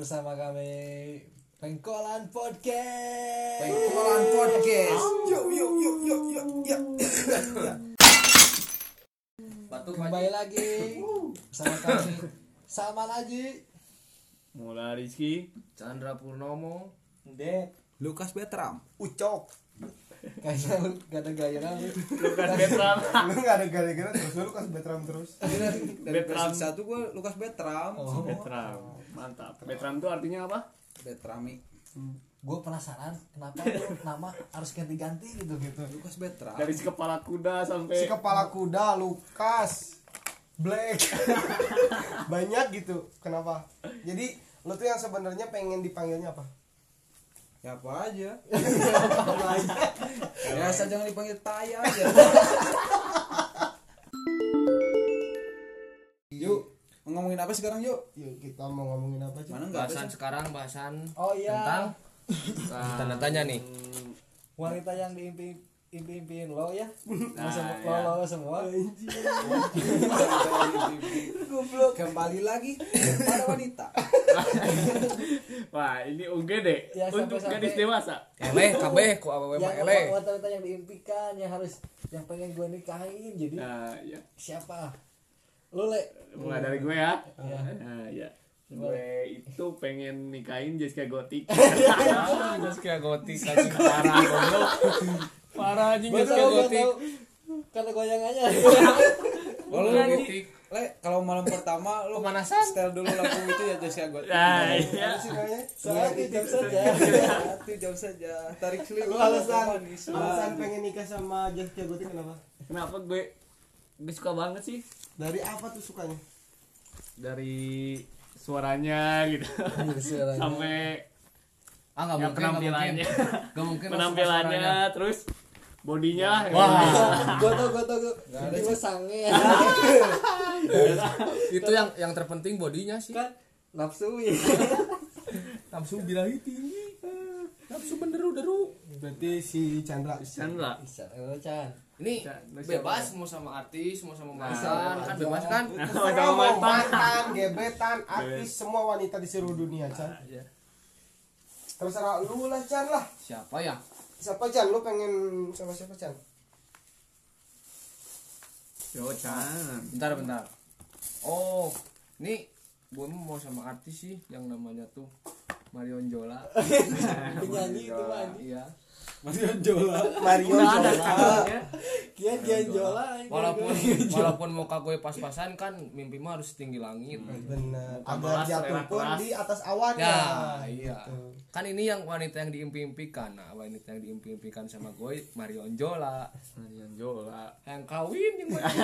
bersama kami Pengkolan Podcast. Pengkolan Podcast. Yuk. Kembali lagi bersama kami Salman Aji, Mula Rizky, Chandra Purnomo, Dek, Lukas Betram. Ucok. Kayaknya lu gak ada gaya lu. Lukas Betram. Lu gak ada gara-gara terus lu Lukas Betram terus. Dari Betram. versi 1 gue Lukas Betram. Oh. Betram, mantap. Betram itu artinya apa? Betrami. Gue penasaran kenapa lu nama harus ganti-ganti gitu. Lukas Betram. Dari si kepala kuda sampai Si kepala kuda Lukas Black. Banyak gitu. Kenapa? Jadi lu tuh yang sebenarnya pengen dipanggilnya apa? Ya apa aja. Ya asal jangan dipanggil Taya aja. Yuk, ngomongin apa sekarang yuk? Yuk kita mau ngomongin apa aja? Mana enggak bahasan sekarang bahasan Oh iya. tentang tanda tanya nih. Wanita yang diimpi-impiin lo ya. Nah, Lo semua. Goblok. Kembali lagi pada wanita. wah ini UGD Ya, untuk sampai-sampai- gadis dewasa. Eleh kabeh ku awewe mah Yang eleh. wanita yang diimpikan yang pengen gue nikahin jadi Nah, ya. siapa? Lo Le. Mulai dari gue ya. Iya. Nah, ya. Gue itu pengen nikahin Jessica Gotik. Terus kayak gotik aja parah goblok. Parah anjing Gue kayak tau gotik. kata goyangannya. Kalau Bukan, gotik, Le, kalau malam pertama lu Pemanasan. setel dulu lagu itu ya Jessica Gotik. Nah, iya. Apa sih namanya? Saat itu saja. Hati jauh saja. Tarik selimut. Lu alasan manis. pengen nikah sama Jessica Gotik kenapa? Kenapa gue suka banget sih Dari apa tuh sukanya? dari suaranya gitu. Sampai Ah enggak ya, mungkin. penampilannya. Enggak mungkin. Penampilannya terus bodinya. Wah. Gue tau. Tiba sange. Itu yang terpenting bodinya sih. Kan nafsu ya. Nafsu birahi tinggi. Nafsu beneru-deru. Berarti si Chandra. Chandra. Bisa, Chan. Ini bebas mau sama artis, mau sama mantan, kan aja. bebas kan? Terserah mau mantan, gebetan, artis, semua wanita di seluruh dunia, Chan. Iya. Terserah lu lah, Chan lah. Siapa ya? Siapa Chan? Lu pengen sama siapa Chan? Yo Chan. Bentar. Oh, ini gue mau sama artis sih yang namanya tuh Marion Jola. Penyanyi itu mah. Iya. Marion Jola. Mario Udah ada Jola. channelnya. Kian Jola. Walaupun muka gue pas-pasan kan mimpi mah harus tinggi langit. Benar. Muka Agar keras, jatuh selera pun keras. di atas awan. Ya, iya. Gitu. Kan ini yang wanita yang diimpi-impikan. Nah, wanita yang diimpi-impikan sama gue Marion Jola. Marion Jola. Yang kawin yang mana?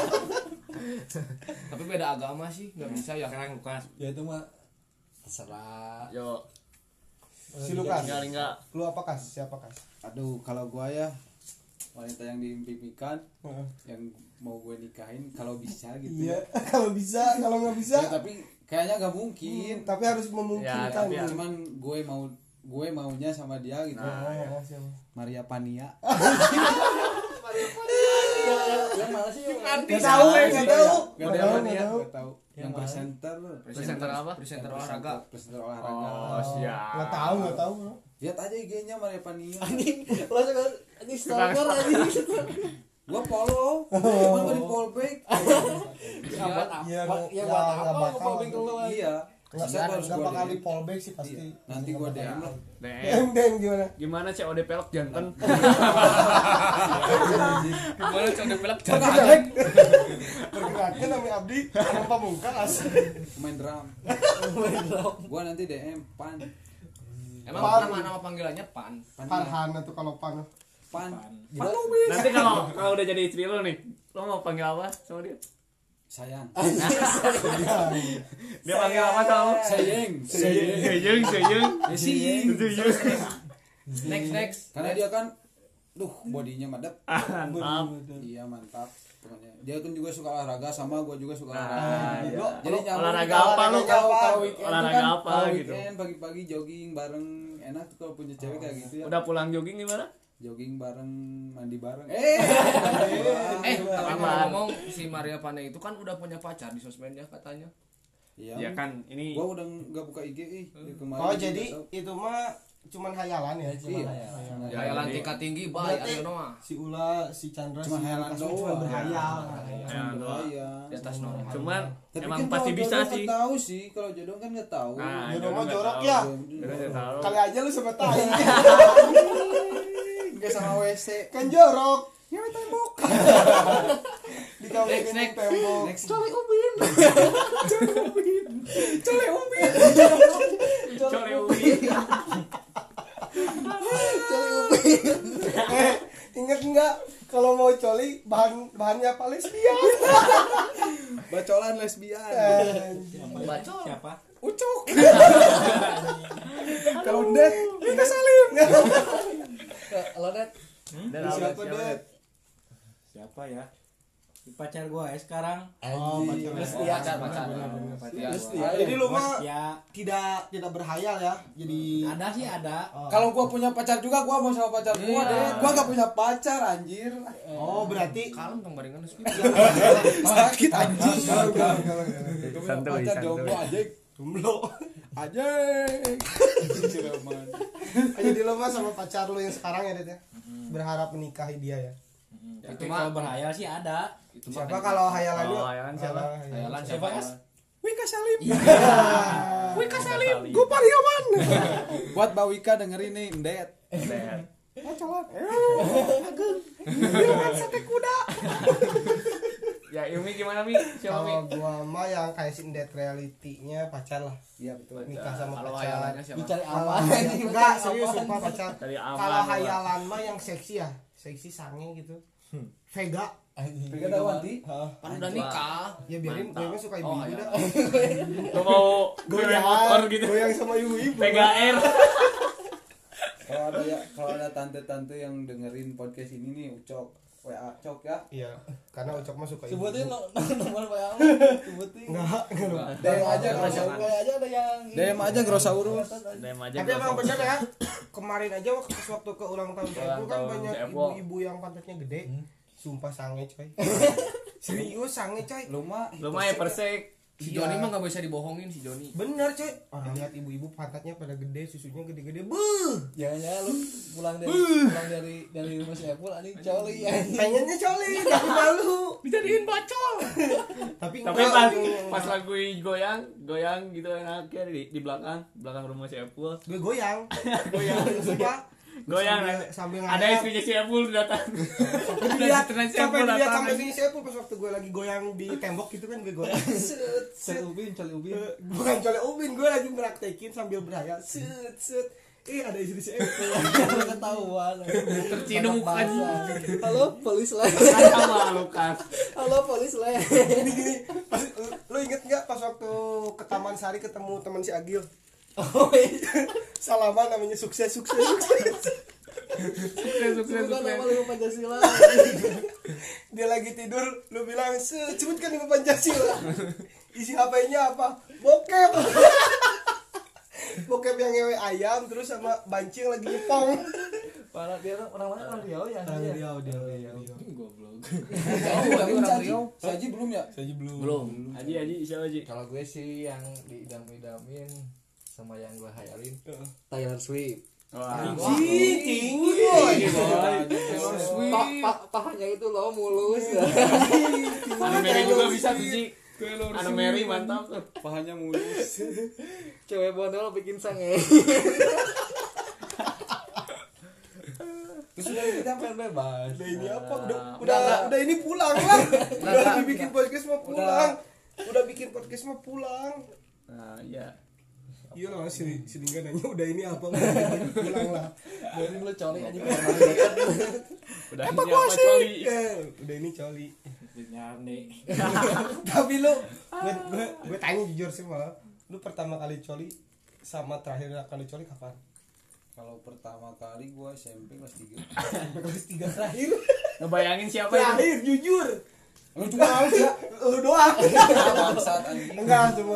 Tapi beda agama sih, nggak bisa ya. Sekarang Lukas. Ya itu mah terserah. Yo. Si Lukas. Enggak. Lu apa Kas? Siapa Kas? Aduh, kalau gua ya wanita yang diimpikan Heeh. yang mau gue nikahin kalau bisa gitu. Iya, kalau bisa, kalau nggak bisa, Ya, tapi kayaknya nggak mungkin. tapi harus memungkinkan. Ya, tapi gitu. Cuman gue maunya sama dia gitu. Siapa? Maria Pania. Yang mana sih? Nggak tahu. Maria Pania, tahu. nggak tahu. Yang Yang mana? presenter loh. Presenter apa? Presenter olahraga. Presenter olahraga. Oh, siap. Nggak tahu. Lihat aja IG-nya Maria Pania. Lo suka ini stalker anjing. Gua follow. Cuman gua di follow back. Ya buat apa? Iya, Ya nggak buat apa? bakal. Ngomongin ke lu. Iya. Nggak Masa gua harus nggak gua bakal DM? di fallback sih pasti. Iya. Nanti gua DM lah. DM gimana? Gimana COD pelok jantan? Gimana coba pelak Perkenalkan nama Abdi, nama Pamungkas. Main drum. Gua nanti DM Pan. Emang Pan. nama panggilannya Pan. Farhan tuh kalau Pan. Pan. Nanti kalau udah jadi istri lo nih, lo mau panggil apa sama dia? Sayang. Dia panggil apa sama lo? Sayang. Seyeng. Sayang. Next. Karena dia kan bodinya madep. Mantap. Iya, mantap. Pokoknya dia kan juga suka olahraga sama gua juga suka Nah, olahraga. iya. Jadi nyambung. Olahraga apa lo? Kalau weekend Olahraga kan, apa kalau gitu? weekend pagi-pagi jogging bareng enak tuh kalau punya cewek kayak gitu ya. Udah pulang jogging gimana? Jogging bareng, mandi bareng. Tapi Aman. ngomong si Maria Pane itu kan udah punya pacar di sosmednya katanya. Iya. Ya kan ini Gua udah enggak buka IG kemarin. Oh juga jadi tahu. itu mah cuman hayalan ya? Cuma Iya. hayalan. Ya, Hayalan jadi- tingkat tinggi baik Berarti ayo mah. si Ula, si Chandra, Cuma si hayalan Lukas mah cuma doang. berhayal. Ya, doang. Iya. Di atas nol. Cuman Tapi emang kan pasti kalau bisa jodoh sih. nggak tahu sih, kalau jodoh kan nggak tahu. Nah, Jodoh jodoh mah nggak jorok tahu. ya. Jodoh nggak tahu. Kali aja lu sama tai. Enggak sama WC. Kan jorok. Nyewa tembok. Di kamar Next. tembok. Cole ubin. Cole ubin. Cole ubi. Ingat enggak kalau mau coli bahannya apa lesbian? Bacolan lesbian. Bacot. Siapa? Ucok. Kalau det, kita salim. Lo net Siapa deh? Siapa ya? Pacar gua ya sekarang. Oh, pacar Lesbian. Pacar. Jadi lu mah Ya, tidak berhayal ya. Jadi ada sih ada. Kalau gua punya pacar juga, gua mau sama pacar gua deh. Gua gak punya pacar anjir. oh berarti Kalem tong barengan geus Sakit anjing. Gua punya Santuy, pacar santuy. jomblo anjing. jomblo. Anjing. Cireman. Jadi lu mah sama pacar lu yang sekarang ya, Det ya. Berharap menikahi dia ya. Itu kalau berhayal sih ada. Siapa kalau hayalan lu? Oh, hayalan siapa? Hayalan Siapa, siapa? Mas? Wika Salim. Wika Salim. Gua Parioman. Buat Mbak Wika dengerin nih, Ndet. Bacolan. Ya Yumi gimana Mi? Siapa Mi? Kalau gua mah yang kayak sindet reality-nya pacar lah. Iya betul. Nikah sama Kalau pacar. hayalannya siapa? dicari Kalau aman. enggak serius sumpah pacar. Dari aman. Kalau hayalan mah yang seksi ya, seksi sange gitu. Vega. Vega Dawanti. Pan udah nikah. Ya biarin, gue mah suka Oh, ibu-ibu iya. dah. Gua mau goyang motor gitu. Goyang sama ibu-ibu. PGR. Kalau ada tante-tante yang dengerin podcast ini nih, Ucok, WA Cok ya. Iya, karena Ucok mah suka ibu. Sebutin nomor WA lu. Sebutin. Enggak. DM aja Kayak aja ada yang DM aja Grosaurus. DM aja. Tapi emang bener ya, kemarin aja waktu ke ulang tahun Ulang saya kan tahun banyak Evo. ibu-ibu yang pantatnya gede. Sumpah sange coy. Serius sange coy. Lu mah Lumayan persek. Si Joni mah enggak bisa dibohongin si Joni. Bener coy. Orang lihat ibu-ibu pantatnya pada gede, susunya gede-gede. Buh. jangan lu pulang dari rumah si Epul anjing coli anjing. Pengennya coli, tapi malu. Dijadiin bacol. Tapi Tapi enggak, pas lagu goyang gitu enaknya di belakang rumah si Epul. gue goyang. Goyang. Sumpah. Goyang. Sambil Ada ngayal. istrinya si Epul datang. Lihat Istrinya si sampai Epul dilihat datang. sampai sini saya pun pas waktu gue lagi goyang di tembok gitu kan gue goyang. Coli ubin. Bukan coli ubin, gue lagi meraktekin sambil berhayal. Set. Ada istri si Epul. Ketahuan. Terciduk aja. Halo, polis lah. Sama Lukas. Halo, polis lah. Gini, pas, lu inget nggak pas waktu ke Taman Sari ketemu teman si Agil? Oh iya. Salaman namanya sukses. Sukses. Bukan nama lu Pancasila. Dia lagi tidur, lu bilang sebutkan Ibu Pancasila. Isi HP-nya apa? Bokep. Bokep yang ngewe ayam terus sama bancing lagi nyepong. Parah dia orang mana orang Riau ya? Dia. Goblok. Saji belum ya? Belum. Aji siapa Aji? Kalau gue sih yang diidam-idamin sama yang gue hayalin Taylor Swift. Wah. Tinggi boy. Pahanya itu loh mulus. Anu Mary juga bisa tuh Ji. Anu Mary mantap tuh. Pahanya mulus. Cewek bondol bikin sange. Terus udah kita Kan bebas. Udah ini apa? Udah ini pulang lah. Udah bikin podcast mau pulang. Udah bikin podcast mau pulang. Nah, iya. Iya lah si Lingga nanya udah ini apa? Pulang lah. Dari lu coli aja. Udah ini apa coli? Udah ini coli. Nyarni. Tapi lu gue tanya jujur sih malah. Lu pertama kali coli sama terakhir kali coli kapan? Kalau pertama kali gua SMP kelas 3. Kelas 3 terakhir. Ngebayangin siapa itu? Terakhir jujur. Lu juga tahu ya? Lu doang. Bangsat anjing. Enggak, semua.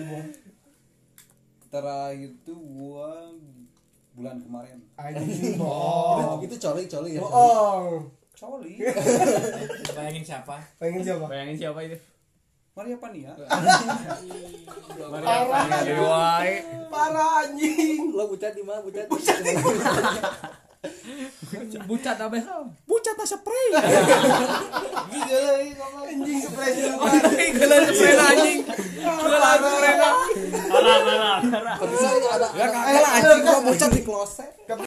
Terakhir itu gua bulan kemarin. Anjing bohong. Itu coli ya. Bohong. Coli. Bayangin siapa? Pengen siapa? Bayangin siapa itu? Maria Pania. Parah anjing. Lo bucat di mana bucat? Bucat apa hal? Bucat spray. Anjing spray Gelar sepeda anjing. Gelar sepeda. Parah. Bisa ada Ya kagak lah anjing gua bucat di kloset. Tapi